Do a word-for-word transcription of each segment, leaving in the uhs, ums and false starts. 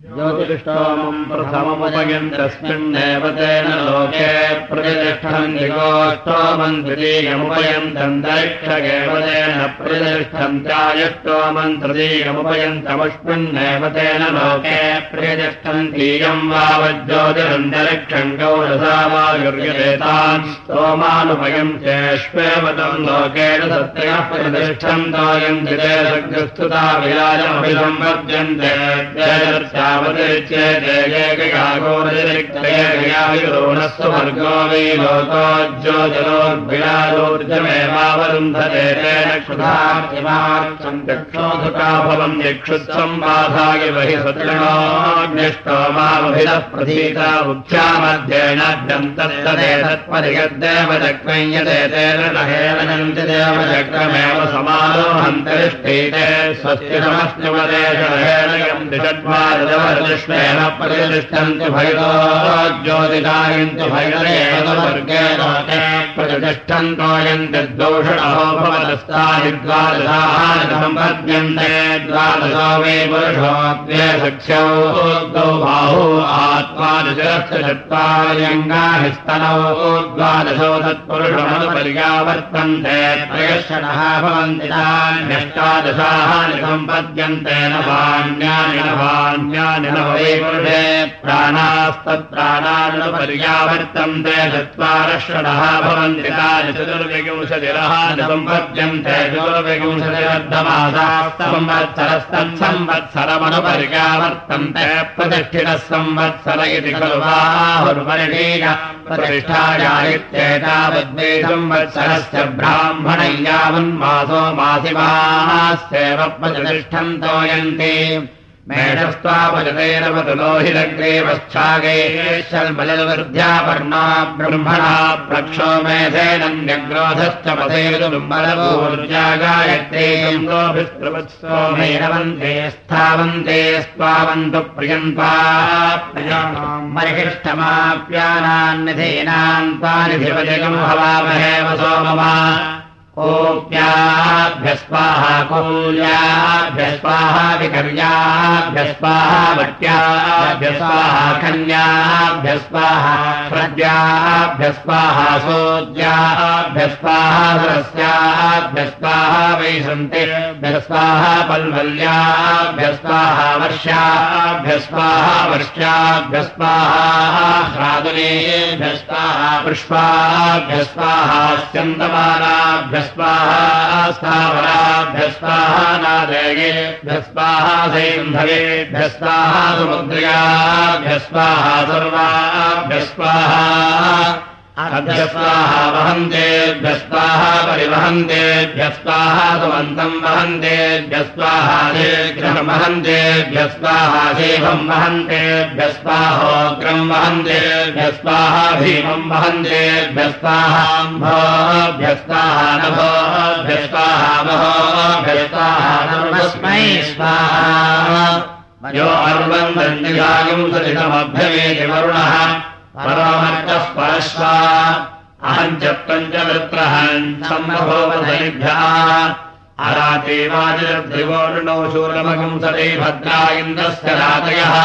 ज्योतिष्ठोमम् प्रथममुपयन्तस्मिन्नेव तेन लोके प्रतिष्ठन्ति गोष्ठोमम् द्वितीयमुपयन्तन्तरिक्षगेव तेन प्रतिष्ठन्त्यायुष्ठोमम् तृतीयमुपयन्तमुष्मिन्नेव तेन लोके प्रतिष्ठन्तीयम् वावज्योतिरन्तरिक्षम् गौरसा वायुर्यदेतान् स्तोमानुपयन्त्येष्वेव तम् लोकेन सत्यः प्रतिष्ठन्तोऽयन्ति ते सग्रस्तुता विराजमभिसम्पद्यन्ते ोरस्व वर्गो वै लोको ज्योतिरोर्जलोर्विराजोर्जमेवावरुन्धते तेन क्षुधार्तिमार्चम् चक्षोधुका भवम् यक्षुत्सम्बाधाय बहि सत्रणोऽग्निष्टोमामभिदः प्रसीता उक्ष्यामध्येनाद्यम् तत्तदेतत्परिगद्देव चक्रञ्यते तेन नहेनन्ति देव चक्रमेव समारोहन्तरिष्ठीते स्वस्ति नमस्नुवदेशहेनयम् दिषड्वारजवरदृष्मेण प्रतिष्ठन्ति भैरो ज्योतिकायन्ति भैरेव वर्गे लोके प्रतिष्ठन्तोऽयन्ति द्वौषणो भवतस्तानि द्वादशाः सम्पद्यन्ते द्वादशो वै पुरुषो द्वे सख्यौ द्वौ बाहू आत्मादशरस्य चत्वार्यङ्गानि स्तनौ द्वादशो तत्पुरुषमनुपर्यावर्तन्ते त्रयः भवन्ति तान्यष्टादशाः सम्पद्यन्ते नवान्यानि नवान्यानि नव वै पुरुषे प्राणास्तत्प्राणानुपर्यावर्तन्ते चत्वारः षडः भवन्ति तानि चतुर्विंशतिरः सम्पद्यन्ते चतुर्विंशतिरर्धमासाः संवत्सरस्तत्संवत्सरमनुपर्यावर्तन्ते प्रतिष्ठितः संवत्सर इति खलु बाहुर्वर्णीय प्रतिष्ठायादित्येतावद्वै संवत्सरस्य ब्राह्मणै यावन्मासो मासिमास्येव प्रतिष्ठन्तोऽयन्ति मेढस्त्वापजतैरवतुलोहिरग्रेवश्चागैश्वल्मलवर्ध्यापर्णा ब्रह्मणा प्रक्षो मेधेनन्यग्रोधश्च पथैरुदुम्बलपूर्जा गायत्रे गङ्गोभिस्त्रवत्सोमेरवन्ते स्थावन्ते स्वावन्तु प्रियन्त्वा प्रियाणाम् मरिहिष्ठमाप्यानान्निधीनान् तानिधिपजगम् हवामहे वसोममा कोप्याभ्यस्वाहा कूल्याभ्यस्वाहा विकर्याभ्यस्वाहा वट्याभ्यस्वाहा कन्याभ्यस्वाहा हृद्याभ्यस्वाहा सोद्याभ्यस्वाहा सरस्याभ्यस्वाहा वैशन्तेभ्यस्वाहा पल्वल्याभ्यस्वाहा वर्षाभ्यस्वाहा वर्षाभ्यस्वाहा ह्रादुनेभ्यस्वाहा पुष्पाभ्यस्वाहा स्यन्दमानाभ्य स्वाहा स्थावराभ्यस्वाहा नादेयेभ्यस्वाहा सैन्धवेभ्यस्वाहा समुद्र्याभ्यस्वाहा सर्वाभ्यस्वाहा अभ्यस्वाहा वहन्तेभ्यस्वाहा परिवहन्तेभ्यस्वाहा सुमन्तम् वहन्तेभ्यस्वाहा शीघ्रम् वहन्तेभ्यस्वाहा शीघ्रम् वहन्तेभ्यस्वाहोग्रम् वहन्तेभ्यस्वाहा भीमम् वहन्तेभ्यस्वाहाम्भोभ्यस्वाहा नभोभ्यस्वाहा महोभ्यस्वाहा नमस्मै स्वाहा यो अर्वन्दन्निगागम् सलितमभ्यमेति वरुणः परोमर्चः परश्वा अहम् च पञ्चवृत्रहन् सम्भोवधनिभ्यः अरातेवाजिर्द्रिवोर्णो शूलमगम् सदे भद्रा इन्द्रस्य रातयः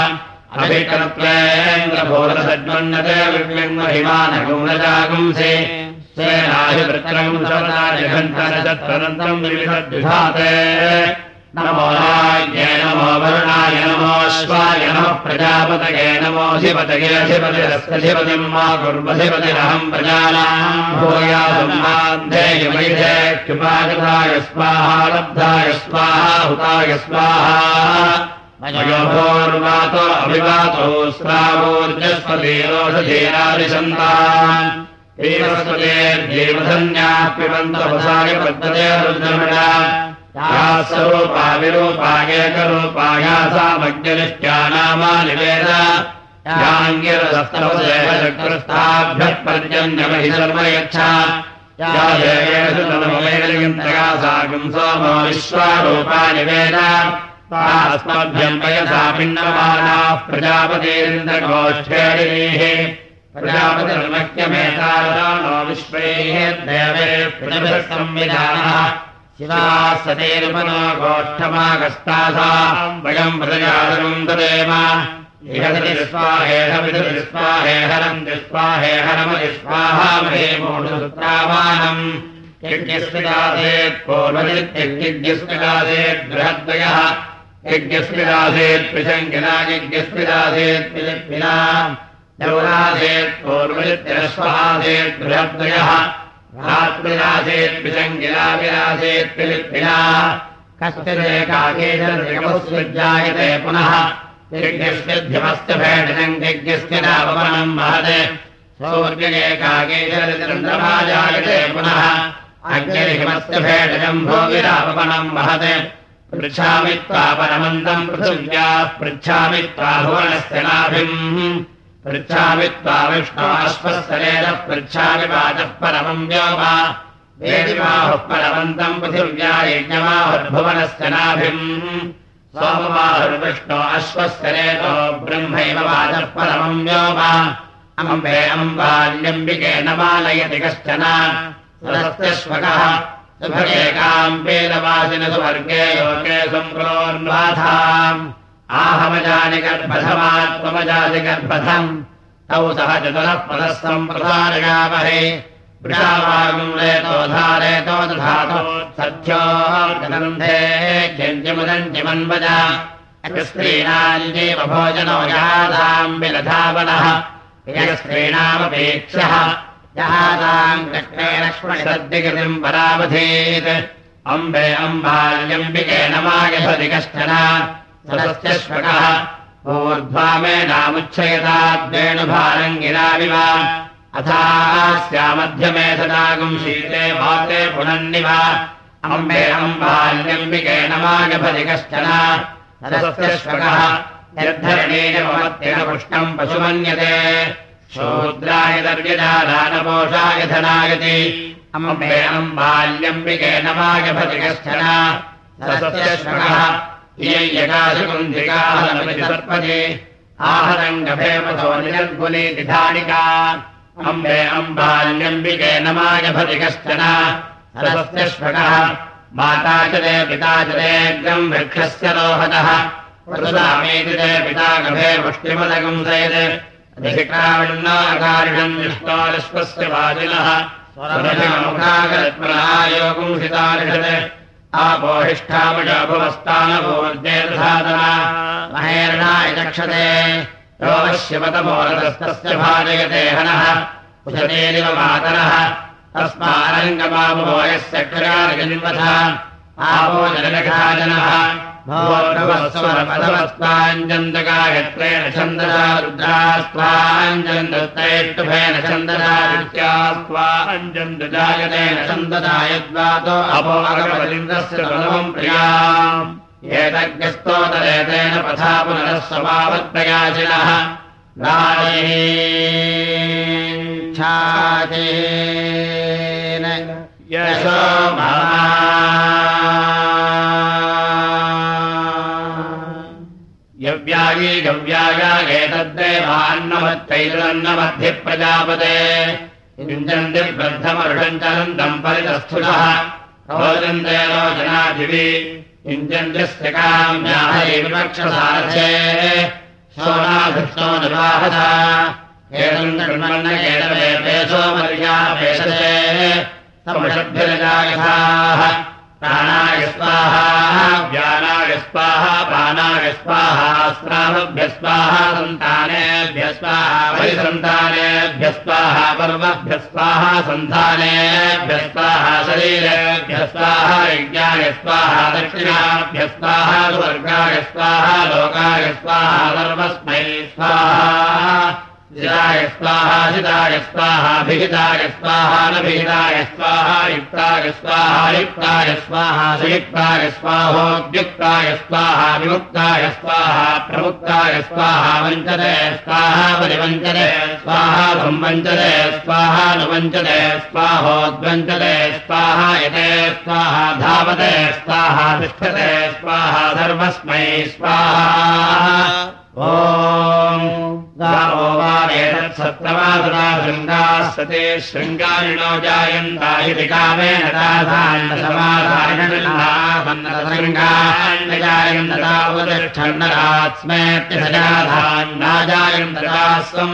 अभिकर्त्वेन्द्रभोरसज्मन्नते विव्यङ्महिमानगुणजागुंसे स्वेनाभिवृत्रम् सवनाजघण्टनचत्रनन्तम् विविधद्विधाते नमो राज्ञे नमो वरुणाय नमोऽश्वाय नमः प्रजापतये नमोऽधिपतये अधिपतिरस्यधिपतिम् मा कुर्वधिपतिरहम् प्रजानाम् भूयासम् मान्धेयमैधे कृपागताय स्वाहा लब्धाय स्वाहा हुताय स्वाहा मयोभोर्वातो अभिवातो स्रावोर्जस्वतीरोषधीरादिशन्तान् एवस्वतेर्देवधन्याः पिबन्तवसाय पद्धतेरुद्रमणा स्वरूपा विरूपायेकरूपाया सामज्ञनिष्ठ्या नामानि वेद याङ्गिरस्तवदेवचक्रस्थाभ्यः पर्जन्यमहि सर्व यच्छा या देवेषु नमवेदयन्तया साकम् सोमो विश्वारूपाणि वेद तास्मभ्यम् वयसा पिण्डमानाः प्रजापतीन्द्रगोष्ठेरिः प्रजापतिर्मह्यमेतानो विश्वैः देवे प्रतिभिः संविधानः शिवाः सतेरुपनो गोष्ठमागस्तासाम् वयम् प्रजातुम् ददेम स्वाहेहविदुस्वाहेहरम् स्वाहेहरमदिस्वाहामहे मूढसूत्रावानम् यज्ञस्मिदासेत् पूर्वजित्यज्ञस्मिदासेत् बृहद्वयः यज्ञस्मिदासेत् पिशङ्किना यज्ञस्मिदासेत् पिलिप्पिना यौरासेत् पूर्वजित्यरस्वहासेत् बृहद्वयः रात्रिरासेत् पिशङ्किना विरासेत् पिलिप्पिना कश्चिदेकाकेशमुत्सृज्यायते पुनः यज्ञस्यध्यमस्य भेषजम् यज्ञस्य नापमनम् महते सौर्यकेकाकेशरचन्द्रमाजायते पुनः अग्निरिमस्य भेषजम् भोगिरापमनम् महते पृच्छामि त्वा परमन्दम् पृथिव्याः पृच्छामि त्वा भुवनस्य नाभिम् पृच्छामि त्वा विष्णोऽश्वस्तरेणः पृच्छामि वाचः परमम् व्योम वेदिमाहुः परमन्तम् पृथिव्या यज्ञमाहुर्भुवनस्य नाभिम् सोममाहुर्विष्णो अश्वस्तरेतो ब्रह्मैव वाचः परमम् व्योम अम्बे अम्बाल्यम्बिके न मानयति कश्चन सरस्त्यश्वकः सुभगेकाम्बेलवासिन सुवर्गे लोके सम्प्रोन्वाथाम् आहमजानि गर्भधमात्मजाति गर्भधम् तौ सह चतुरः पदः सम्प्रसारयामहे वृषावागुंलेतो धारेतो दधातो सत्यो गन्धे जञ्जमुदञ्जमन्वज स्त्रीणाञ्जीव भोजनो यादाम् विलधावनः यस्त्रीणामपेक्षः यादाम् कृष्णे लक्ष्मणसद्दिकृतिम् परावधीत् अम्बे अम्बाल्यम्बिके न मायभति कश्चन सरस्त्यश्वकः ऊर्ध्वा मे नामुच्छयताद्वेणुभारङ्गिराविव अथास्यामध्यमे सदागुम् शीते वाते पुनन्निव अम्बे अम्बाल्यम्बिके न मायभति कश्चन सरस्त्यश्वकः निर्धरणीयमत्येन पुष्टम् पशुमन्यते शूद्राय दर्यजादानपोषाय धनायति अम्बे अम्बाल्यम्बिके न मायभति कश्चन सरस्त्यश्वकः इयैयकाशकुन्धिकाहरमिति सर्पति आहरङ्गभेमसो निजर्गुलीति धानिका अम्बे अम्बाल्यम्बिके न मायभति कश्चन सरस्त्यश्वकः माता च ते पिता च तेऽग्रम् वृक्षस्य रोहतः वृषामेति ते पिता गभे पुष्टिमदगम् सयत् अधिकारिणम् विष्णोरश्वस्य वाजिनः स्वरमुखागरत्मनायोगुंसितारिषत् आपोहिष्ठामजाभुवस्तानभूर्जेर्धातना महेरणाय चक्षते योगश्यपतमोरतस्तस्य भाजयते हनः कुशतेरिव मातरः तस्मारङ्गमामो यस्य क्षरार्गन्वथ आपो जनलखाजनः भोर्भवस्वरमधवस्त्वाञ्जन्तगायत्रेण छन्दसा रुद्रास्त्वाञ्जन्तैष्टुभेन छन्दसा विद्यास्त्वाञ्जन्तजायतेन छन्दसा यद्वातो अपो अगमलिन्द्रस्य गुणवम् प्रियाम् एतज्ञस्तोतरेतेन पथा पुनरः समावत्प्रयाचिनः नायेच्छाचेन यशो यव्यायी गव्यायागेतद्देवान्नमत्तैतन्नमद्धि प्रजापते युञ्जन्ति ब्रद्धमरुषञ्चलन्तम् परितस्थुषः रोचन्ते रोचनादिवि युञ्जन्त्यस्य काम्याहैर्वक्षसारथे सोनाधृष्टो निवाहत एतम् कृण्वन्न एतवेपेशो मर्यापेशते समषद्भिरजायथाः प्राणाय स्वाहा व्यानाय स्वाहा प्राणाय स्वाहा स्रावभ्यः स्वाहा सन्तानेभ्यः स्वाहा परिसन्तानेभ्यः स्वाहा पर्वभ्यः स्वाहा सन्तानेभ्यः स्वाहा शरीरेभ्यः स्वाहा यज्ञाय स्वाहा दक्षिणाभ्यः स्वाहा स्वर्गाय स्वाहा लोकाय स्वाहा सर्वस्मै स्वाहा जिताय स्वाहा जिताय स्वाहा भिहिताय स्वाहा नभिहिताय स्वाहा युक्ताय स्वाहा युक्ताय स्वाहा सयुक्ताय स्वाहोद्युक्ताय स्वाहा विमुक्ताय स्वाहा प्रमुक्ताय स्वाहा वञ्चते स्वाहा परिवञ्चते स्वाहा संवञ्चते स्वाहा नुवञ्चते स्वाहोद्वञ्चते स्वाहा यते स्वाहा धावते स्वाहा तिष्ठते स्वाहा सर्वस्मै स्वाहा ॐ गावो वा एतत् सत्रमासुरा शृङ्गाः सते शृङ्गारिणो जायन्ता इति कामेन तासान्नसमाधानशृङ्गान् जायन्तता उपतिष्ठन्नरात्स्मेत्यजाधान्नाजायन्तता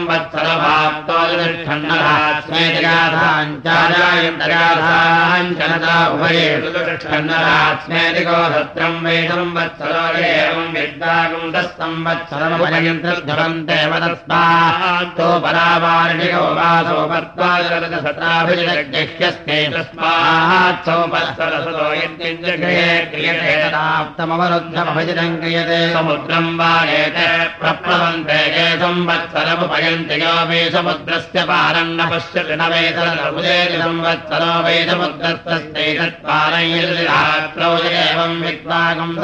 संवत्सरभाक्तोतिष्ठन्नरात्स्मेतिगाधाञ्जाधाञ्जनता उभये तिष्ठन्नरात्स्मेति गोधत्रम् वै संवत्सरो एवम् विद्वागम् तः संवत्सरमुपयन्त्रध्वन्ते वदस्मात्तो परावारणिको वासो वर्त्वाजरसताभिजग्यस्ते तस्मात् संवत्सरसतो यद्यज्ञे क्रियते तदाप्तमवरुद्धमभिजितम् क्रियते समुद्रम् वायेते प्रप्लवन्ते ये संवत्सरमुपयन्ति यो वै समुद्रस्य पारम् न पश्यति न वेतरमुदेति संवत्सरो वै समुद्रस्तस्यैतत्पारयिरात्रौ एवम् विद्वागम्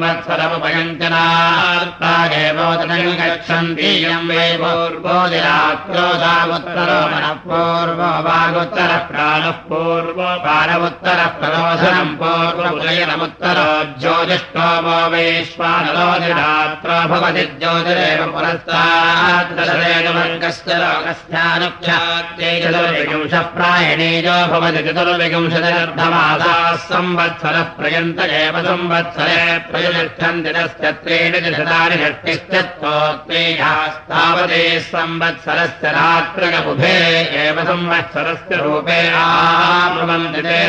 तत्संवत्सरमुपयन्त्यनार्तागेवोदनम् गच्छन्ति यम् वै पूर्वोदिरात्रो सामुत्तरो मनः पूर्वो वागुत्तरः प्राणः पूर्वो पारमुत्तरः प्ररोधनम् पूर्वोदयनमुत्तरो ज्योतिष्ठो वो वैश्वानरोदिरात्रो भवति ज्योतिरेव पुरस्ताद्दशरेणवर्गस्य लोकस्थानुख्यात्यै चतुर्विंशः प्रायणीयो भवति चतुर्विंशतिरर्धमासाः संवत्सरः प्रयन्त एव संवत्सरे प्रयुतिष्ठन्ति तस्य त्रीणि दशतानि षष्टिश्चत्वोत्तेयास्तावते संवत्सरस्य रात्रगबुधे एव संवत्सरस्य रूपे आभवन्ति ते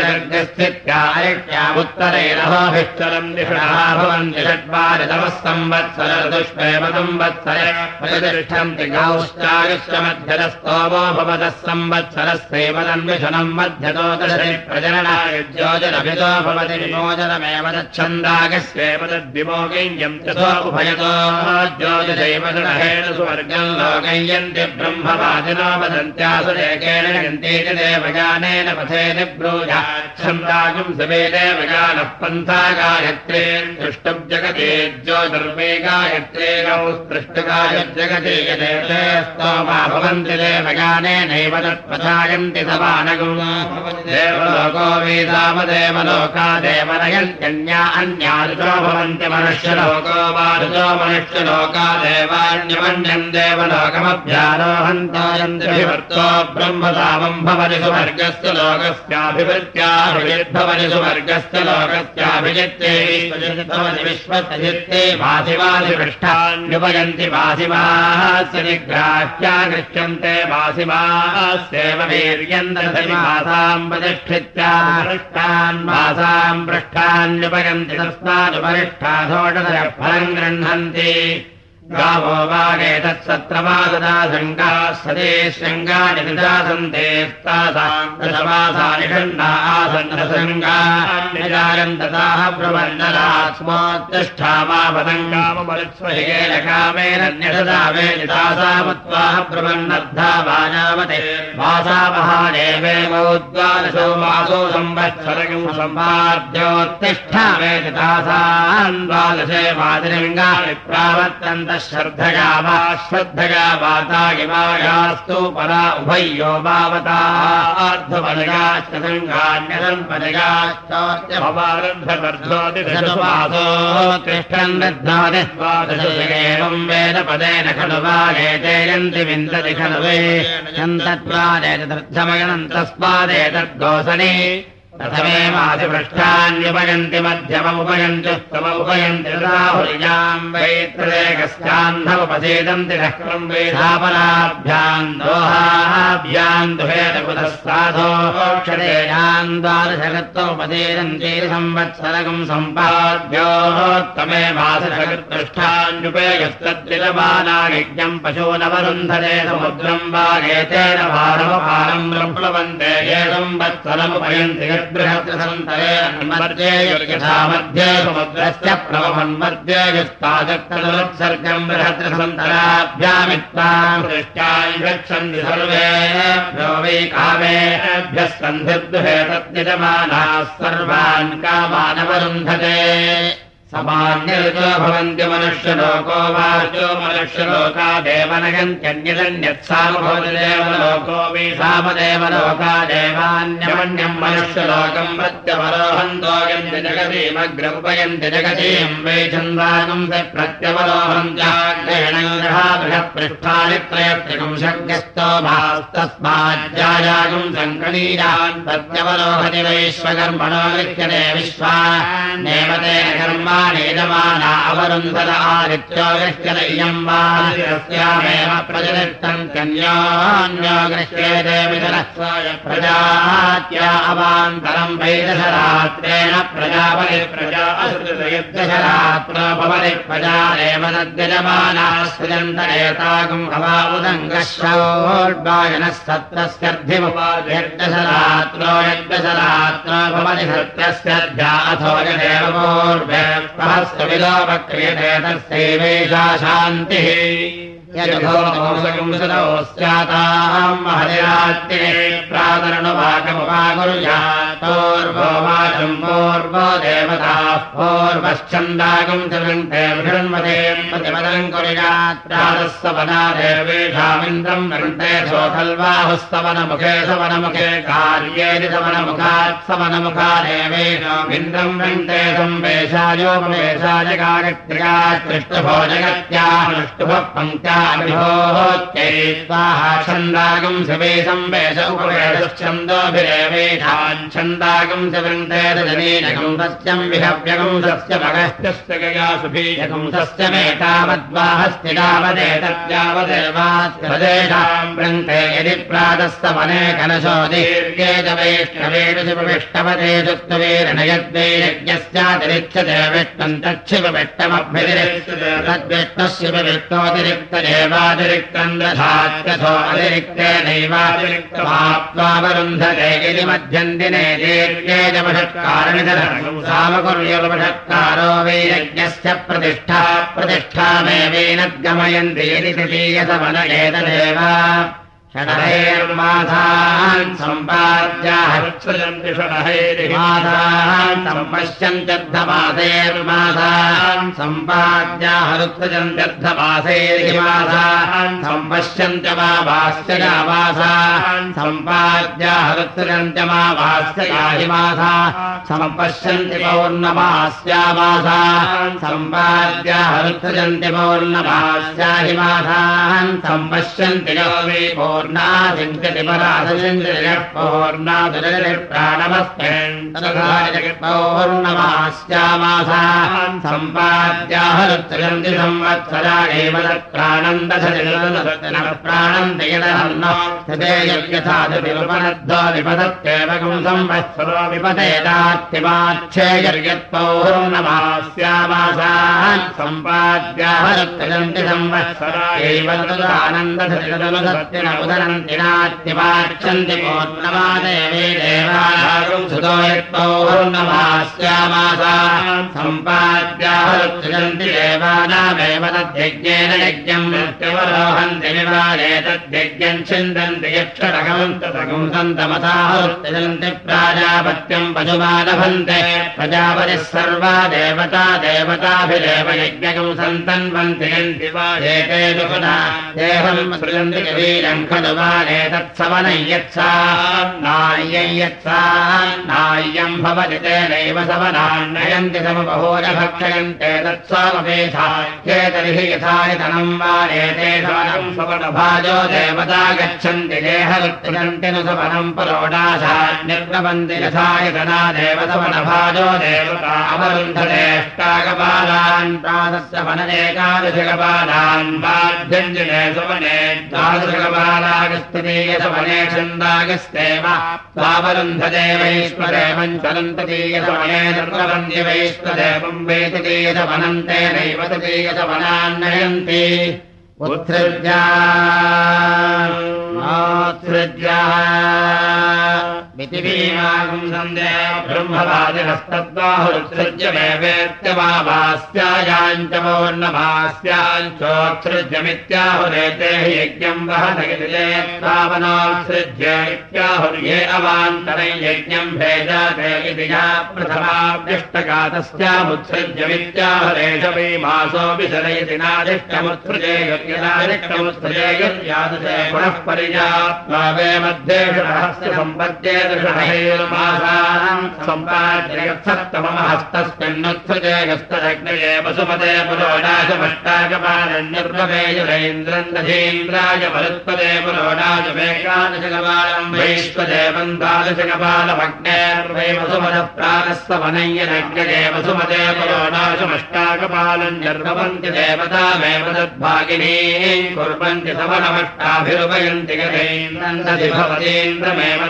सर्गस्थित्यारिष्ट्यामुत्तरैरहोभिश्चरम् दिषणः भवन्ति षड्वारितमः संवत्सर ऋतुष्वेव संवत्सरे प्रयुतिष्ठन्ति गौश्चायुश्च मध्यतस्तोमो भवतः संवत्सरस्यैव तन्विषणम् मध्यतो दशरि प्रजननाय ज्योतिरभितो भवति विमोचनमेव तच्छन्दागस्येव तद्विमोगय्यम् तथो उभयतो ज्योतिषैव षडहेण सुवर्गम् लोकयन्ति ब्रह्मवादिनो वदन्त्यासुरेकेण यन्तीति देवगानेन पथेति ब्रूयाच्छन्दागम् सवे देवगानः पन्था गायत्रे दृष्टम् जगते ज्योतिर्वे गायत्रे गौस्पृष्टगायज्जगते यदेते स्तोमा भवन्ति देवगानेनैव तत्पथायन्ति समानगुम् देवलोको वेदामदेवलोका देवनयन्त्यन्या अन्या ऋतो भवन्ति मनुष्यलोको वा ऋतो मनुष्यलोका देवान्यमन्यम् देवलोकमभ्यारोहन्तायन्त्यभिवर्तो ब्रह्मसामम् भवति सुवर्गस्य लोकस्याभिवृत्त्याभिजिद्भवति सुवर्गस्य लोकस्याभिजित्ते भवति विश्वसजित्ते वासिवासिपृष्ठान्युपयन्ति वासिमास्य निग्राह्या गृह्यन्ते वासिमास्येव वीर्यन्दधमासाम् प्रतिष्ठित्या पृष्ठान् मासाम् पृष्ठान्युपयन्ति तस्मादुपरिष्ठा षोडशः फलम् गृह्णन्ति गावो वागेतत्सत्रमासदा शृङ्गाः सदे शृङ्गानि निदासन्ते तासाम् दशमासानि षण्णा आसन्नशृङ्गान्निजायन्तताः प्रबन्धनास्मोत्तिष्ठामापदङ्गामरुत्स्वहिगेन कामेन न्यषदा वेदितासामुत्वाह प्रबन्नर्धा वाजावते वासावहादेवेमोद्वादशो मासो संवत्सरगम् सम्पाद्योत्तिष्ठा वेदितासान् द्वादशे वादिलिङ्गानि प्रावर्तन्तः श्रद्धगा वा श्रद्धगा वाता इमायास्तु परा उभयो वावतार्धपदगाश्च सङ्गान्यसम्पदगाश्चोत्य भवारन्धवर्धोतिषनुवासो तिष्ठन् दध्नाति द्वादशेवम् वेद पदेन खलु वागेते यन्ति विन्दति खलु वे यन्तत्वादेतदर्थमगणम् तस्मादेतद्गोसने प्रथमेमाधिपृष्ठान्युपयन्ति मध्यममुपयन्ति स्तममुपयन्ति तदाहुर्याम् वैत्रदेकस्यान्धमुपसेदन्ति नक्रम् वेधापनाभ्याम् दोहाभ्याम् दुहेतकुतः साधोक्षतेयाम् द्वादशकृत्वमुपसेदन्ति संवत्सरकम् सम्पाद्योत्तमे मासशकृत्पृष्ठान्युपयस्तद्विलमानायज्ञम् पशूनवरुन्धते समुद्रम् वागेतेन भारमपारम् प्रप्लवन्ते ये संवत्सरमुपयन्ति बृहत्सन्तरे अन्मध्ये यथा मध्ये समुद्रस्य प्रभवन्मध्ये यस्ताजक्तदुत्सर्गम् बृहत्सन्तराभ्यामित्ताम् पृष्ठान् गच्छन्ति सर्वेभ्यो वै कामेभ्यः सन्धिर्दुहे तद्यजमानाः सर्वान् कामानवरुन्धते समान्यर्जो भवन्ति मनुष्यलोको वार्जो मनुष्यलोकादेव नयन्त्यन्यदन्यत्सामभवति देवलोको वै सामदेवलोका देवान्यमन्यम् मनुष्यलोकम् प्रत्यवरोहन्तो यन्ति जगतीमग्रमुपयन्ति जगतीम् वै छन्दागम् स प्रत्यवरोहन्त्याग्रेण बृहत्पृष्ठानि त्रयत्रिपुंशज्ञस्तो भास्तस्माज्जायागम् सङ्कनीयान् प्रत्यवरोहति वैश्वकर्मणो गृह्यते विश्वान्नेवतेन कर्मा नेजमाना अवरुन्धर आदित्यो गृह्यत इयम् वा अस्यामेव प्रजनिष्ठन्त्यन्योऽन्यो गृह्येते विदरस्वाय प्रजात्या अवान्तरम् वै दशरात्रेण प्रजापति प्रजा असृतयद्दशरात्रो भवति प्रजारेव तद्यजमानाः सृजन्त एतागम् अवा उदङ्गश्रवोड्वायनः सत्रस्यर्धिमुपाद्यद्दशरात्रो यद्दशरात्रो भवति सत्रस्यर्ध्या अथो यदेव पूर्वे सहस्रविलोपक्रियते तस्यैवैषा शान्तिः यजुभूतमंसकम् स्याताम् महदिरात्रिणे प्रातरणवाकमुपाकुर्यात्पूर्वो वाचम् पूर्वो देवताः पूर्वश्चन्दागम् च वृन्ते विषण्मते प्रतिपदम् कुर्यात् प्रातःसवना देवेषामिन्द्रम् वृन्ते सोऽखल्वाहुस्तवनमुखे सवनमुखे कार्येति सवनमुखात् सवनमुखा देवेषामिन्द्रम् वृन्ते संवेशायोपवेशाय गायत्र्यात् पृष्ठभो जगत्यानुष्टुभः पङ्क्त्या विभोत्यै स्वाहा छन्दागम् शिवे संवेश उपवेशच्छन्दोभिरेवेशान् छन्दागम् च वृन्ते रजनीनकम् सस्यम् विहव्यकम् सस्य भगश्चस्य गयासुभीयकम् सस्य मेतावद्वाहस्तिदावदेतद्यावदेवास्तेषाम् वृन्ते यदि प्रातस्तवने कलशो दीर्घे च वैष्णवेषु शिवविष्टवते सुक्तवीरनयद्वै यज्ञस्यातिरिच्यते विष्णम् तच्छिवविष्टमभ्यतिरिच्यते तद्विष्णस्य विष्णोऽतिरिक्त देवातिरिक्तम् दधात्यथो अतिरिक्तेनैवातिरिक्तमाप्त्वावरुन्धते यदि मध्यन्दिने दीर्घे च वषत्कारणिधरम् सामकुर्युर्वषत्कारो वै यज्ञस्य प्रतिष्ठा प्रतिष्ठामेवैनद्गमयन्ति यदि तृतीयसवन एतदेव षडहैर्मासान् सम्पाद्याः सृजन्ति षडहैर्मासान् सम्पश्यन्त्यर्धमासैर्मासान् सम्पाद्याः ऋत्सृजन्त्यर्धमासैर्मासान् सम्पश्यन्त्यमावास्य मासान् सम्पाद्याः ऋत्सृजन्त्यमावास्य मासाः सम्पश्यन्ति पौर्णमास्यामासान् सम्पाद्याः ऋत्सृजन्ति पौर्णमास्याहि मासान् सम्पश्यन्ति पूर्णादिञ्चति परादिञ्चति पूर्णादुरति प्राणमस्मिन् पौर्णमास्यामासान् सम्पाद्याः ऋत्सृजन्ति संवत्सरा एव तत्प्राणम् दशति प्राणन्ति यदहन्नो तदे यथा विपनद्धो विपदत्येवकम् संवत्सरो विपदेतात्यमाच्छेयर्यत्पौर्णमास्यामासान् सम्पाद्याः ऋत्सृजन्ति संवत्सरा एव तदानन्दधति उदरन्ति नात्यवाच्छन्ति पूर्णमादेवे देवानागम् सुतो यत्पौर्णमास्यामासान् सम्पाद्याः ऋत्सृजन्ति देवानामेव तद्यज्ञेन यज्ञम् प्रत्यवरोहन्ति विवादे तद्यज्ञम् छिन्दन्ति यक्षरकम् तदकम् सन्तमसाः ऋत्सृजन्ति प्राजापत्यम् पशुमालभन्ते प्रजापतिः सर्वा देवता देवताभिरेव यज्ञकम् सन्तन्वन्ति यन्ति वा एते दुःखना देहम् सृजन्ति कवीरम् खलु वाले तत्सवनम् यत्सान्नाय्यम् यत्सान्नाय्यम् भवति तेनैव सवनान्नयन्ति समबहोज भक्षयन्ते तत्स्वामपेधाख्ये तर्हि यथायतनम् वाले ते सवनम् सवनभाजो देवता गच्छन्ति देहवृत्तिगन्ति नु सवनम् परोडाशान्यर्नवन्ति यथायतना देव सवनभाजो देवता अवरुन्धतेष्टाकपालान् प्रातस्य वनदेकादशकपालान् बाध्यञ्जने सवने द्वादशकपालागस्ततीयसवने छन्दागस्तेव स्वावरुन्धते वैश्वदेवम् चलन्ततीयसवने निर्वन्ति वैश्वदेवम् वेततीयसवनन्तेनैव ततीयसवनान्नयन्ति उत्सृज्या उत्सृज्या मितिभीमागुम् सन्देह ब्रह्मवादिनस्तद्बाहुरुत्सृज्य वेवेत्यमावास्यायाञ्च पौर्णमास्याञ्चोत्सृज्यमित्याहुरेते हि यज्ञम् वहनगिरिलेत्तावनोत्सृज्य इत्याहुर्ये अवान्तरै यज्ञम् भेजाते इति या प्रथमाभ्यष्टकातस्यामुत्सृज्यमित्याहुरेष भीमासोऽपि शरयति नादिष्टमुत्सृजे यज्ञनादिष्टमुत्सृजेयुर्यादशे पुनः परिजात्वा वे मध्येषु रहस्य सम्पद्ये मासानाम् सम्पाद्यसप्तमहस्तस्मिन्नुत्सृजे यस्तदग्नये वसुमते पुरोडाशमष्टाकपालन्यर्ववेयुरेन्द्रम् दधीन्द्राय मरुत्पदे पुरोडाशमेकादशकपालम् वैश्वदेवम् द्वादशकपालमग्नेर्वै वसुमतः प्राणस्तवनय्यनग्नये वसुमते पुरोडाशमष्टाकपालम् निर्वपन्ति देवतामेव तद्भागिनी कुर्वन्ति सवनमष्टाभिरुपयन्ति गतेन्द्रम् दधि भवतीन्द्रमेव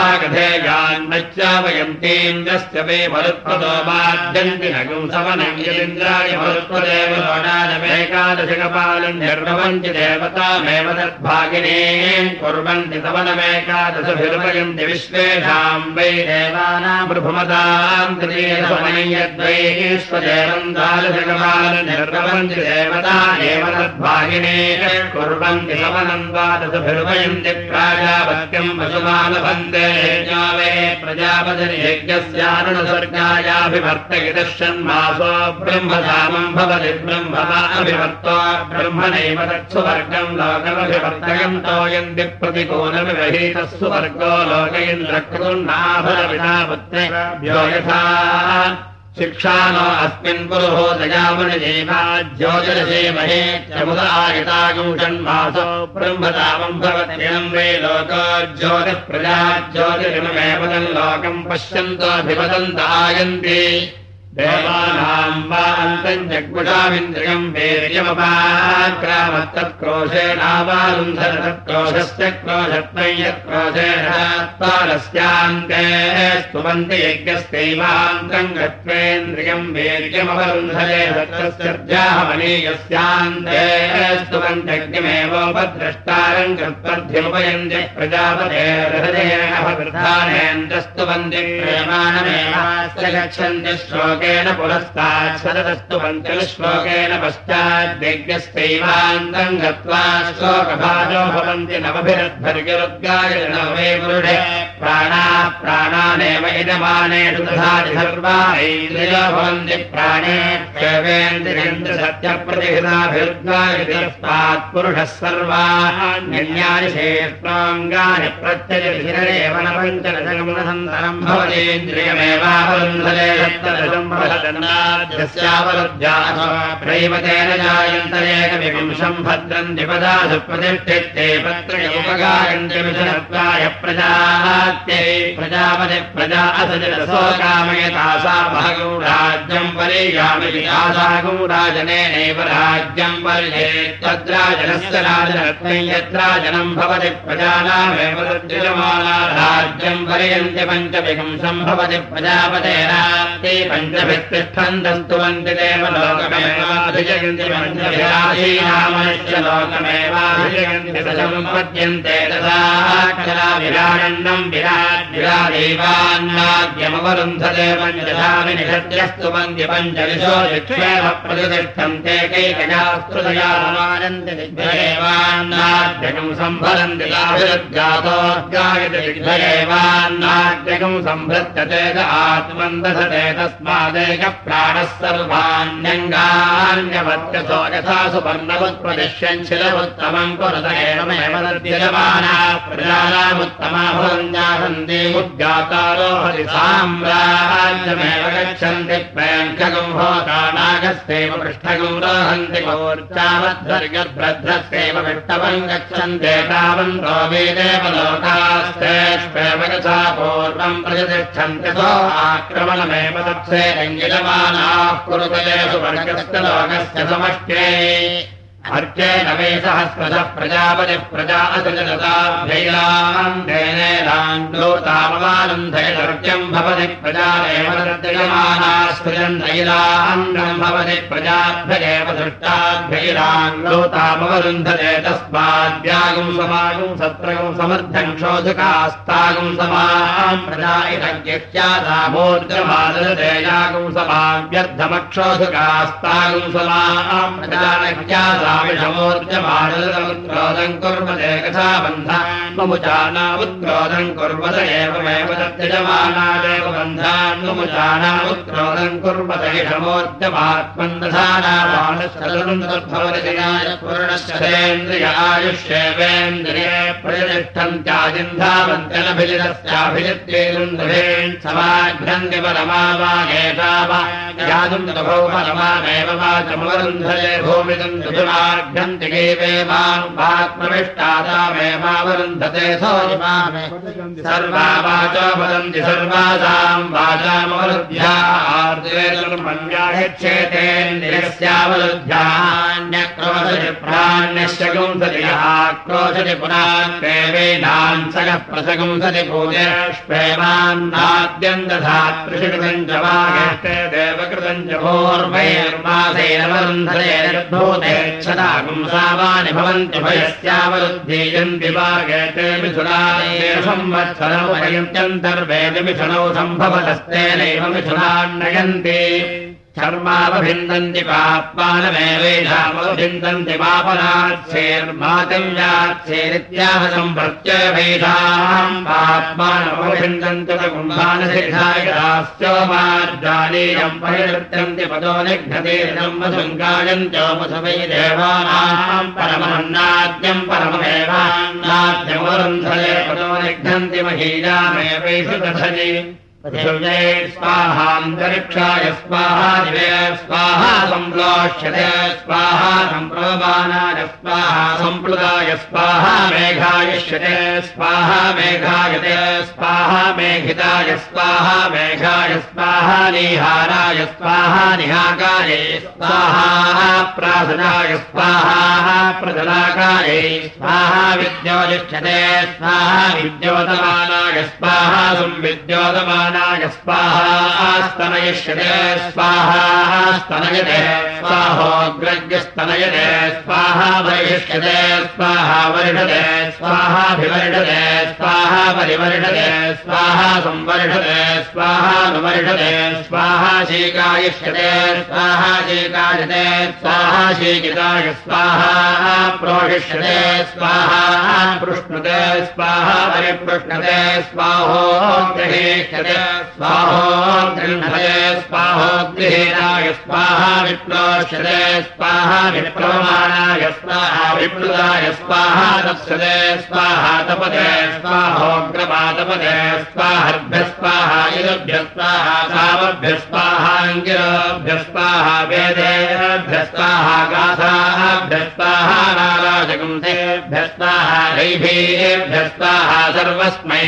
तद्भागधेयान्नच्चावयन्तीन्द्रस्य वे मरुत्पदो बाध्यन्ति नगुम् सवनम् यदिन्द्राय मरुत्पदेव लोडानमेकादशकपालम् निर्वपन्ति देवतामेव तद्भागिनीम् कुर्वन्ति सवनमेकादशभिरुपयन्ति विश्वेषाम् वै देवानाम् प्रभुमताम् तृतीयसवनयद्वैश्वदेवम् द्वादशकपालम् निर्वपन्ति देवता एव तद्भागिनी कुर्वन्ति सवनम् द्वादशभिरुपयन्ति प्राजापत्यम् वसुमालभन्ते यज्ञो वे प्रजापतिर्यज्ञस्यारुणसर्गायाभिवर्तयितः षण्मासो ब्रह्मधामम् भवति ब्रह्मवा अभिवर्तो ब्रह्मणैव तत्सुवर्गम् लोकमभिवर्तयन्तो यन्ति प्रतिकूलमिवहीतः सुवर्गो लोक इन्द्रकृतुर्नाभरविनापुत्रे यथा शिक्षानो अस्मिन् पुरुहोदयामुनिदेवा ज्योतिरसेमहे चमुदायतागुं षण्मासो ब्रह्मधामम् भवत्ययम् वै लोको ज्योतिः प्रजा ज्योतिरिममेव तल्लोकम् पश्यन्तोऽभिवदन्त आयन्ति देवानाम् वा अन्तम् जग्मुषामिन्द्रियम् वीर्यमपाक्रामत्तत्क्रोशेनावारुन्धर तत्क्रोशस्य क्रोशत्वम् यत्क्रोशेण त्वारस्यान्ते स्तुवन्ति यज्ञस्यैवान्तम् गत्वेन्द्रियम् वीर्यमवरुन्धरे तत्तस्यर्जाहमनीयस्यान्ते स्तुवन्त्यग्निमेवोपद्रष्टारम् कृत्वर्ध्यमुपयन्ति प्रजापतेर्हृदयेन वृद्धानेन्द्र स्तुवन्ति प्रेमाणमेवास्य गच्छन्ति श्लोके पुरस्तात् सदस्तुवन्ति श्लोकेन पश्चाद्यज्ञस्यैवान्तम् गत्वा श्लोकभाजो भवन्ति नवभिरद्भर्गिरुद्गाय नवे पुरुषे प्राणाः प्राणानेव इदमानेषु दधाति सर्वा ऐन्द्रियो भवन्ति प्राणे सत्यप्रतिहृताभिरुद्गायस्मात् पुरुषः सर्वाण्यन्यानि शेष्णाङ्गानि प्रत्ययशिरेव न पञ्चदशगमनसन्तरम् भवतीन्द्रियमेवावरुन्धरे सप्तदशम् प्रैवतेन जायन्तरेकविंशम् भद्रम् द्विपदासु प्रतिष्ठिते पत्रयोपगायन्ति विषनत्वाय प्रजात्यै प्रजापति प्रजा असजलसो कामयतासा भागौ राज्यम् परियामिति आसागौ राजनेनैव राज्यम् पर्येत् तद्राजनस्य राजनत्वम् यत्राजनम् भवति प्रजानामेव तद्यजमाना राज्यम् पर्यन्ति पञ्चविंशम् भवति प्रजापतेनाप्ते पञ्चभित्तिष्ठन्तस्तुवन्ति देवलोकमेवाभिजयन्ति पञ्चविराजीनामनुष्यलोकमेवाभिजयन्ति सम्पद्यन्ते तथा विराडण्डम् विराट् विरादेवान्नाद्यमवरुन्धते पञ्चधाविनिषद्यस्तुवन्ति पञ्चविशो दिक्षेम प्रतिष्ठन्ते कैकजास्तृतया समानन्ति दिग्भयेवान्नाद्यकम् सम्भरन्ति ताभिरुद्गातोद्गायति दिग्भयेवान्नाद्यकम् सम्भृत्यते च आत्मन्दसते तस्मादेकप्राणः सर्वाण्यङ्गान्यवत्यसो यथा सुपर्णवत्प्रदिश्यञ्चिलमुत्तमम् कुरुत एवमेव तद्यजमानाः प्रजानामुत्तमा भवन्त्यासन्ति उद्गातारो हरि साम्राज्यमेव गच्छन्ति प्रेङ्खगुम् होतानागस्यैव पृष्ठगुम् रोहन्ति गोर्चावद्भर्गभ्रद्रस्यैव विष्टवम् गच्छन्ते तावन्तो वेदेव लोकास्तेष्वेव यथा पूर्वम् प्रतिष्ठन्ति सो आक्रमणमेव तत्से अङ्गिलमानाः कुरुतले सुवर्गस्य लोकस्य समष्ट्ये अर्चेन वै सहस्रशः प्रजापतिः प्रजा असृजताभ्यैलाम् तेनेलान्दोतामवानन्धयदर्क्यम् भवति प्रजा एव तद्यजमाना सृजन्तैलान्दम् भवति प्रजाभ्यगेव सृष्टाभ्यैलान्दोतामवरुन्धते तस्माद्यागुम् समागुम् सत्रगुम् समर्थम् क्षोधकास्तागुम् समाम् प्रजा इदज्ञस्यादामोर्जमादते यागुम् समाम् व्यर्थमक्षोधकास्तागुम् समाम् प्रजा विषमोर्जमानोदम् कुर्वते कथा बन्धान्मुचानामुत्क्रोधम् कुर्वत एवमेव तद्यजमानादेव बन्धान्मुचानामुत्क्रोधम् कुर्वत इषमोर्जमात्मन् दधानावानश्चन्द्रियायुष्येवेन्द्रिये प्रतिष्ठन्त्याजिन्धावन्त्यनभिजितस्याभिजित्येन्द्रेन् समाघ्रन्ति परमावागेतावा यादुम् तभौ परमामेव वाचमवरुन्धये भूमिदम् दुभिमाघ्रन्ति गीवेमात्मविष्टादामेवावरुन्धते सोऽजिमामे सर्वा वाचो वदन्ति सर्वासाम् वाचामवरुद्ध्या आर्द्रेतुर्मन्यागच्छेतेन्द्रियस्यावरुद्ध्यान्यक्रोशति प्राण्यश्च गुंसति यः क्रोशति पुनात्मेवेनान् सगः प्रसगुंसति पूजेष्वेवान्नाद्यम् दधात्रिषिकृतम् च वागेष्टे देवकृतम् च भूर्वैर्मासेन वरुन्धते क्षदागुंसावानि भवन्ति भयस्यावरुद्धीयन्ति वागेते मिथुनादेव संवत्सरमुपयुञ्चन्तर्वेदि मिथुनौ सम्भवतस्तेनैव मिथुनान्नयन्ति धर्मावभिन्दन्ति पाप्मानमेवेषामभिन्दन्ति पापनाच्छेर्मातव्याच्छेरित्याह सम्प्रत्ययभेषाम् पाप्मानमभिन्दन्ति कुम्भानसिद्धायदास्योमार्जालीयम् परिवृत्यन्ति पदो निघ्नतीर्णम् वसुङ्गायन्त्योपसु वै देवानाम् परमन्नाद्यम् परममेवान्नाद्यमरुन्धरे पदो निघ्नन्ति महीयामेवैषु दधनि पृथिव्यै स्वाहान्तरिक्षाय स्वाहा दिवे स्वाहा सम्प्लोष्यते स्वाहा सम्प्रोबाणाय स्वाहा सम्प्लुताय स्वाहा मेघायिष्यते स्वाहा मेघायते स्वाहा मेघिताय स्वाहा मेघाय स्वाहा निहाराय स्वाहा निहाकायै स्वाहा प्रासनाय स्वाहा प्रजलाकायै स्वाहा विद्योतिष्ठते स्वाहा विद्योतमानाय स्वाहा संविद्योतमानाय स्वाहा स्तनयिष्यते स्वाहा स्तनयते स्वाहोग्रज्ञस्तनयते स्वाहा वरिष्यते स्वाहा वर्षते स्वाहाभिवर्षते स्वाहा परिवर्षते स्वाहा संवर्षते स्वाहानुवर्षते स्वाहा शीकायिष्यते स्वाहा शीकायते स्वाहा शीकिताय स्वाहा प्रोषिष्यते स्वाहा पृष्णुते स्वाहा परिपृष्णते स्वाहोग्रहीष्यते स्वाहोग्रह्णते स्वाहोग्रहीणाय स्वाहा विप्लोष्यते स्वाहा विप्लवमानाय स्वाहा विप्लुताय स्वाहा तप्स्यते स्वाहा तपते स्वाहोग्रपातपते स्वाहर्भ्य स्वाहा इदभ्य स्वाहा सामभ्य स्वाहाङ्गिरोभ्य स्वाहा वेदेभ्य स्वाहा गाथाभ्य स्वाहा नाराजगुंसेभ्य स्वाहा रैभीभ्य स्वाहा सर्वस्मै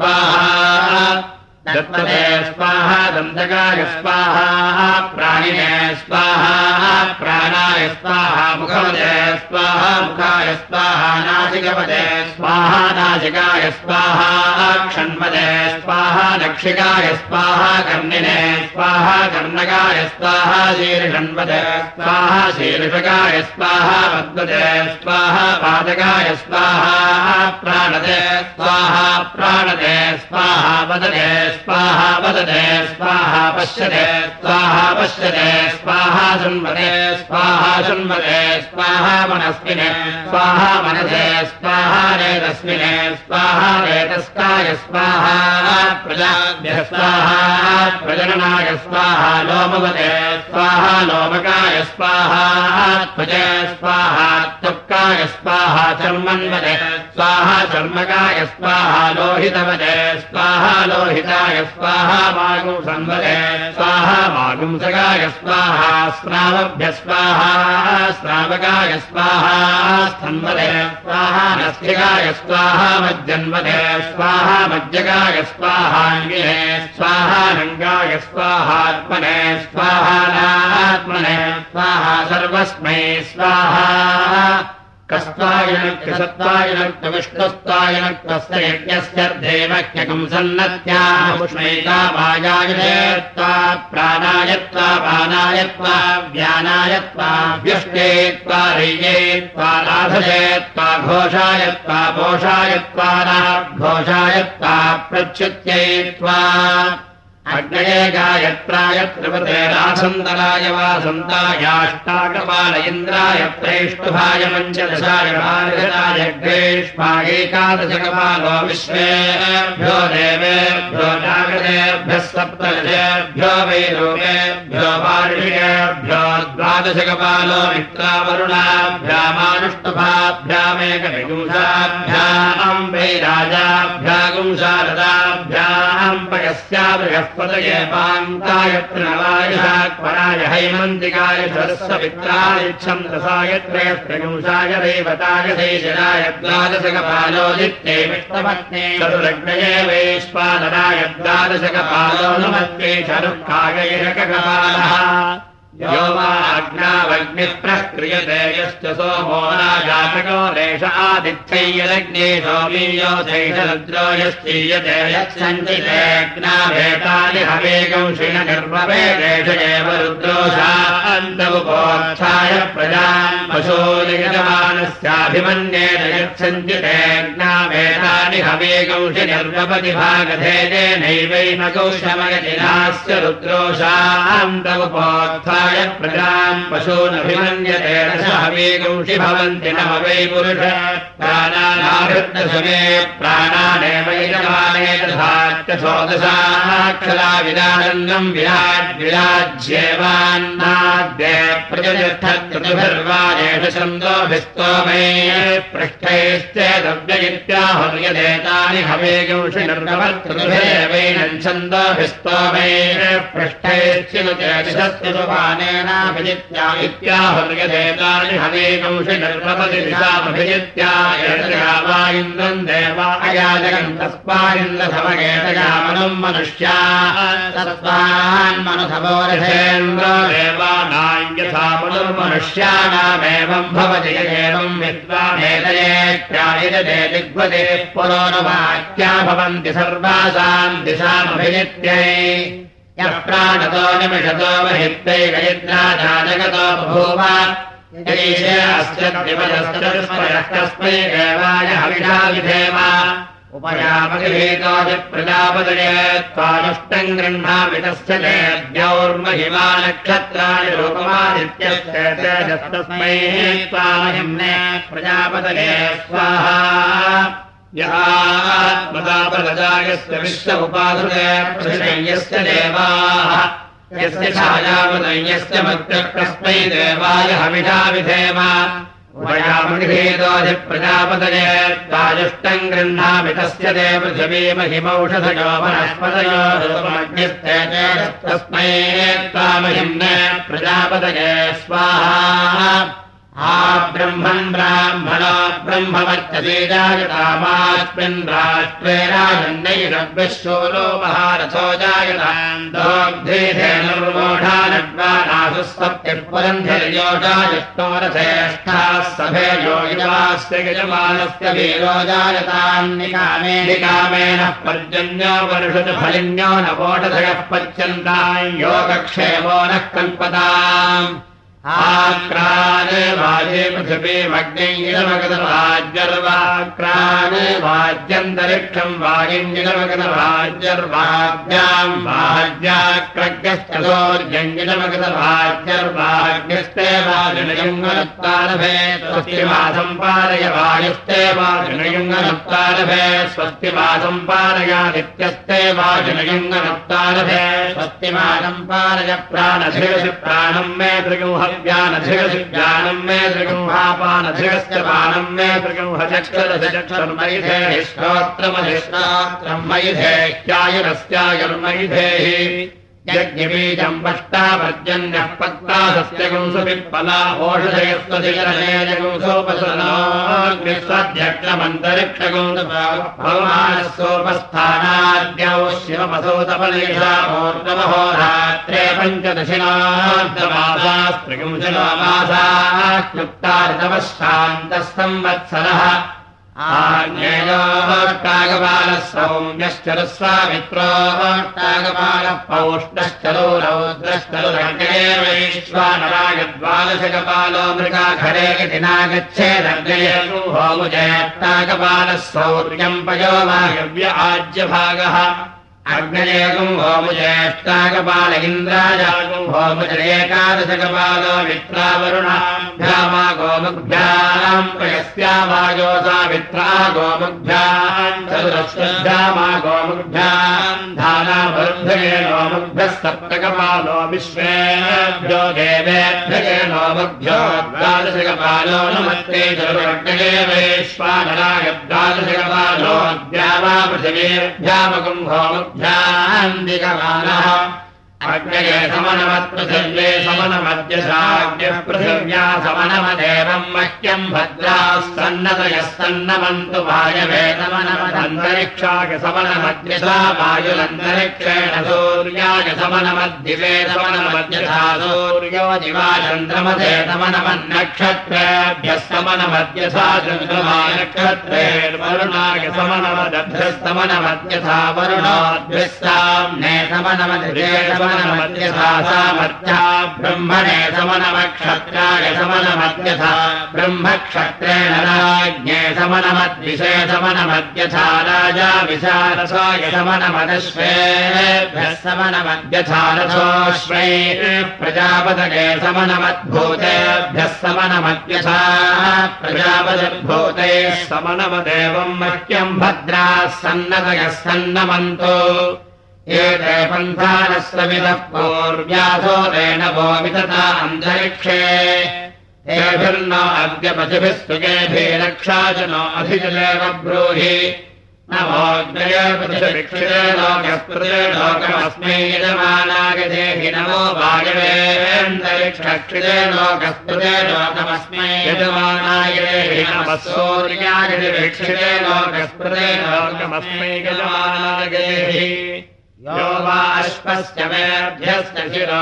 स्वाहा दत्तते स्वाहा दन्तकाय स्वाहा प्राणिने स्वाहा प्राणाय स्वाहा मुखपदे स्वाहा मुखाय स्वाहा नासिकपदे स्वाहा नासिकाय स्वाहा क्षण्पदे स्वाहा नक्षिकाय स्वाहा कर्णिने स्वाहा कर्णकाय स्वाहा शीर्षण्पदे स्वाहा शीर्षकाय स्वाहा पद्मदे स्वाहा पादकाय स्वाहा प्राणदे स्वाहा प्राणदे स्वाहा वदने स्वाहा वदते स्वाहा पश्यते स्वाहा पश्यते स्वाहा शृण्वते स्वाहा शृण्वते स्वाहा मनस्विने स्वाहा मनसे स्वाहा रेतस्विने स्वाहा रेतस्काय स्वाहा प्रजाभ्यः स्वाहा प्रजननाय स्वाहा लोमवते स्वाहा लोमकाय स्वाहा त्वचे स्वाहा त्वक्काय स्वाहा चर्मन्वते स्वाहा चर्मकाय स्वाहा लोहितवते स्वाहा लोहिताय स्वाहा मागुंसन्वते स्वाहा मागुंसकाय स्वाहा स्नावभ्य स्वाहा स्नावकाय स्वाहा स्तन्वते स्वाहा नस्तिकाय स्वाहा मज्जन्वते स्वाहा मज्जकाय स्वाहाङ्गिने स्वाहा रङ्गाय स्वाहात्मने स्वाहा नात्मने स्वाहा सर्वस्मै स्वाहा कस्त्वायनक्तसत्त्वायनक्त विष्णुस्त्वायनक्तस्य यज्ञस्यर्धेवह्यकम् सन्नत्यामुष्मैता वायायत्वा प्राणायत्वा पानायत्वा व्यानायत्वा व्युष्टेत्वा रय्येत्वा राधयेत्वा घोषायत्वा पोषायत्वा घोषायत्वा प्रच्युत्ययित्वा अग्नये गायत्राय त्रिपते रासन्तराय वासन्तायाष्टाकपाल इन्द्राय प्रेष्टुभाय पञ्चदशाय भार्गताय ग्रेष्माय एकादशकपालो विश्वेभ्यो देवेभ्यो जागरेभ्यः सप्तदशेभ्यो वैरूपेभ्यो वार्षिकेभ्यो द्वादशकपालो मित्रावरुणाभ्यामानुष्टुभाभ्यामेकविगुंसाभ्याम् वैराजाभ्यागुंसारदाभ्याम् पयस्या पदये पान्ताय त्रिनवायशाक्वराय हैमन्तिकाय सरस्वमित्राय छन्दसाय त्रयस्त्रिगुंसाय रेवताय शैशराय द्वादशकपालोदित्ये विष्णुपत्ने चतुरग्नये वैश्वानराय द्वादशकपालो नमस्ते शरुक्काय एककपालः यो वा अग्नावग्निः प्रक्रियते यश्च सोमो राजातको रेष आदित्यै यदग्ने सोमीयो शैषरुद्रो यश्चीयते यत्सञ्चितेऽग्नाभेतानि हवेगंशिन निर्वपेदेश एव रुद्रोषान्तमुपोत्थाय प्रजाम् पशूनिगतमानस्याभिमन्येन यत्सञ्चितेऽग्नाभेतानि हवेगंशि निर्वपति भागधेदेनैवैमकौशमयतिनास्य रुद्रोषान्तमुपोत्थाय प्रजाम् पशूनभिमन्यते रसहवेगंषि भवन्ति नम वै पुरुष प्राणानाहृतसमे प्राणानेव यजमाने तथाच्च षोडशाक्षरा विराजन्नम् विराट् विराज्येवान्नाद्ये प्रजतिष्ठत्कृतिभिर्वाजेष छन्दोभिस्तोमे पृष्ठैश्चेदव्य इत्याहुर्यदेतानि हवेगंषि निर्गमत्कृतिभिरेवैनम् छन्दोभिस्तोमे पृष्ठैश्चिनुते दिशस्तुपानेनाभिजित्या इत्याहुर्यदेतानि हवेगंषि निर्वपति दिशामभिजित्या एतया इन्द्रम् देवा अयाजगम् तस्मादिन्द्रसमगेतयामनुम् मनुष्या तस्मान्मनुसवो रथेन्द्रो देवानाम् यथा मनुर्मनुष्याणामेवम् भवति एवम् विद्वानेतयेत्यायजते दिग्वते पुरो न वाक्या भवन्ति सर्वासाम् दिशामभिजित्यै यः प्राणतो निमिषतो महित्यैकयित्रा जगतो बभूव यैषे अस्य द्विपदश्चतुष्पयः कस्मै देवाय हविषा विधेम उपयामगृहीतोऽपि प्रजापतये त्वानुष्टम् गृह्णामि तस्य तेऽद्यौर्महिमा नक्षत्राणि रूपमादित्यस्य तेजस्तस्मै त्वामहिम्ने प्रजापतये स्वाहा यस्त्मदापरजायस्य विश्व उपासते प्रशयस्य देवाः यस्य छायावदयस्य मध्यकस्मै देवाय हविषा विधेम उभयामगृहीतोऽधिप्रजापतये त्वाजुष्टम् गृह्णामि तस्य ते पृथिवीमहिमौषधयो वनस्पतयो रूपमग्निस्ते तस्मै त्वामहिम्ने प्रजापतये स्वाहा आ ब्रह्मन् ब्राह्मणो ब्रह्मवर्चसे जायतामास्मिन् राष्ट्रे राजन्नैरव्यशूलो महारथो जायताम् दोग्धेधेनुर्मोढानड्वानासु सप्तिर्पुरन्धर्योषायुष्टो रथेष्ठाः सभे योगिवास्य यजमानस्य वीरो जायताम् निकामे निकामेन पर्जन्यो वर्षत फलिन्यो न वोढधयः पच्यन्ताम् योगक्षेमो नः कल्पताम् आक्राने वाजे पृथिवीमग्निरमगतवाज्यर्वाक्राने वाज्यन्तरिक्षम् वागिञ्जिरमगतवाज्यर्वाग्याम् वाज्याक्रग्यस्तोर्यञ्जिरमगतवाज्यर्वाग्यस्ते वाजुनयुङ्गनत्तारभे स्वस्तिमासम् पारय वायुस्ते वाजुनयुङ्गनत्तारभे स्वस्तिमासम् पारयादित्यस्ते वाजुनयुङ्गनत्तारभे स्वस्तिमासम् पारय प्राणधिरसि प्राणम् मे त्रिगुंह ज्ञानधिगसि ज्ञानम् मे त्रिगुंहापानधिगस्य पानम् मे त्रिगुंहचक्षरसि चक्षुर्मयिधेहि श्रोत्रमधिश्रोत्रम् मयिधेह्यायुरस्यायुर्मयिधेहि यज्ञबीजम् पष्टापर्जन्यः पक्ता सस्यगुंसुपिप्पला ओषधयस्वधिकरणेजगुंसोपसनाग्निस्वध्यक्षमन्तरिक्षगुंसुभवमानः सोपस्थानाद्यौ शिवमसोतपलेशाहोर्नमहोरात्रे पञ्चदशिनार्धमासास्त्रिगुंशमासाः क्लुप्ता ऋतवः शान्तः संवत्सरः आग्नेयोष्टागपालः सौम्यश्चरुस्वामित्रोष्टागपालः पौष्णश्चरो रौद्रश्चरुरग्ने वैश्वानरागद्वादशकपालो मृगाखरे इति नागच्छेदग्नये होमुजयष्टागपालः सौर्यम् पयो वायव्य आज्यभागः अग्नयेकम् होमुजयष्टागपाल इन्द्राजागम् होमुजयेकादशकपालो मित्रावरुणाभ्यामा गोमुग्भ्याम् पयस्यावायोसा मित्रा गोमुग्भ्याम् चतुरश्वभ्यामा गोमुग्भ्याम् धानावरुद्धये नोमुग्भ्यः सप्तकपालो विश्वेभ्यो देवेभ्यये नोमुग्भ्यो द्वादशकपालो नमस्ते चतुरग्नये वैश्वानराय द्वादशकपालो द्यावा पृथिवीभ्यामकम् होमुग्भ्याम् ध्यान्दिकमानः अग्नये समनमत्पृथिव्ये समनमद्यसाग्निः पृथिव्या समनमदेवम् मह्यम् भद्राः सन्नतयः सन्नमन्तु वायवे समनमदन्तरिक्षाय समनमद्यसा वायुरन्तरिक्षेण सूर्याय समनमद्दिवे समनमद्यसा सूर्यो दिवा चन्द्रमसे समनमन्नक्षत्रेभ्यः समनमद्यसा चन्द्रमा नक्षत्रेर्वरुणाय समनमदभ्यस्तमनमद्यसा वरुणोद्भिः साम्ने समनमद्ये समनमद्यथा सामर्थ्या ब्रह्मणे समनमक्षत्राय समनमद्यथा ब्रह्मक्षत्रेण राज्ञे समनमद्विषे समनमद्यथा राजा विशारसाय समनमदश्वेभ्यः समनमद्यथा रथोऽश्वैः प्रजापतये समनमद्भूतेभ्यः समनमद्यथा प्रजापतिर्भूतैः समनमदेवम् मह्यम् भद्राः सन्नतयः सन्नमन्तो एते पन्थानस्सविदः पूर्व्यासो तेन वो वितता अन्तरिक्षे तेभिर्न अद्य पथिभिः सुगेभिरक्षा च नो अधिजलेव ब्रूहि नमोऽग्नये पथिभिक्षिते लोकस्पृते लोकमस्मै यजमानाय देहि नमो वायवेऽन्तरिक्षक्षिते लोकस्पृते लोकमस्मै यजमानाय देहि नमः सूर्याय दिविक्षिते लोकस्पृते लोकमस्मै यजमानाय देहि यो वा अश्वस्य मेभ्यस्य शिरो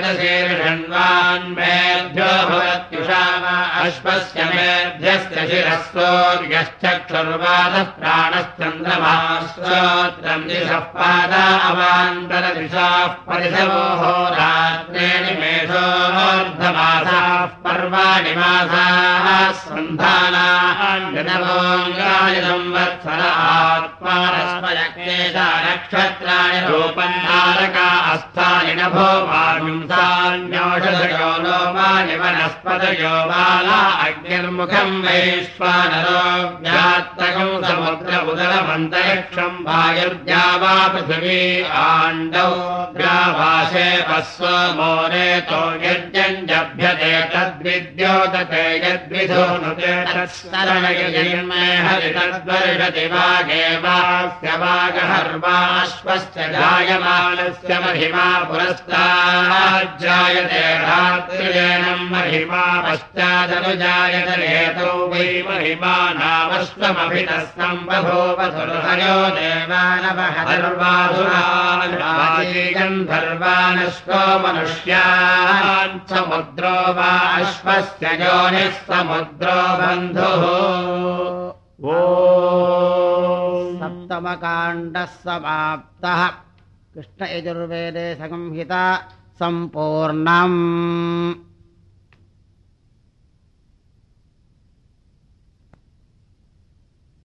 वेदशीर्षण्वान्मेभ्यो भवत्युषा वा अश्वस्य मेभ्यस्य शिरः सूर्यश्चक्षुर्वादः प्राणश्चन्द्रमाः श्रोत्रम् दिशः पादा अवान्तरदिशाः परिशवो होरात्रेणि मेषोऽर्धमासाः पर्वाणि मासाः सन्धानाः जनवोऽङ्गानि संवत्सर आत्मानस्मयक्लेशा नक्षत्राणि रूपम् तारका अस्तानि नभो वागुंसान्योषधयो लोमानि वनस्पतयो बाला अग्निर्मुखम् वैश्वानरो व्यात्तकम् समुद्र उदरमन्तरिक्षम् वायुर्द्या वा पृथिवी आण्डौ द्यावाशे पस्व मोरेतो यज्ञञ्जभ्यते तद्विद्योतते यद्विधोनुते तत्सरणयजिन्मे हरितद्वर्षति वागे वास्य वागहर्वाश्वस्य जायमानस्य महिमा पुरस्ताज्जायते रात्रिजेनम् महिमा पश्चादनुजायते हेतौ वै महिमा नामश्वमभितः सम्बभूव सुरहयो देवानवहर्वासुरागन्धर्वानश्वो मनुष्यान् समुद्रो वा अश्वस्य योनिः समुद्रो बन्धुः सप्तमकाण्डः समाप्तः। कृष्ण यजुर्वेदे संहिता सम्पूर्णम्।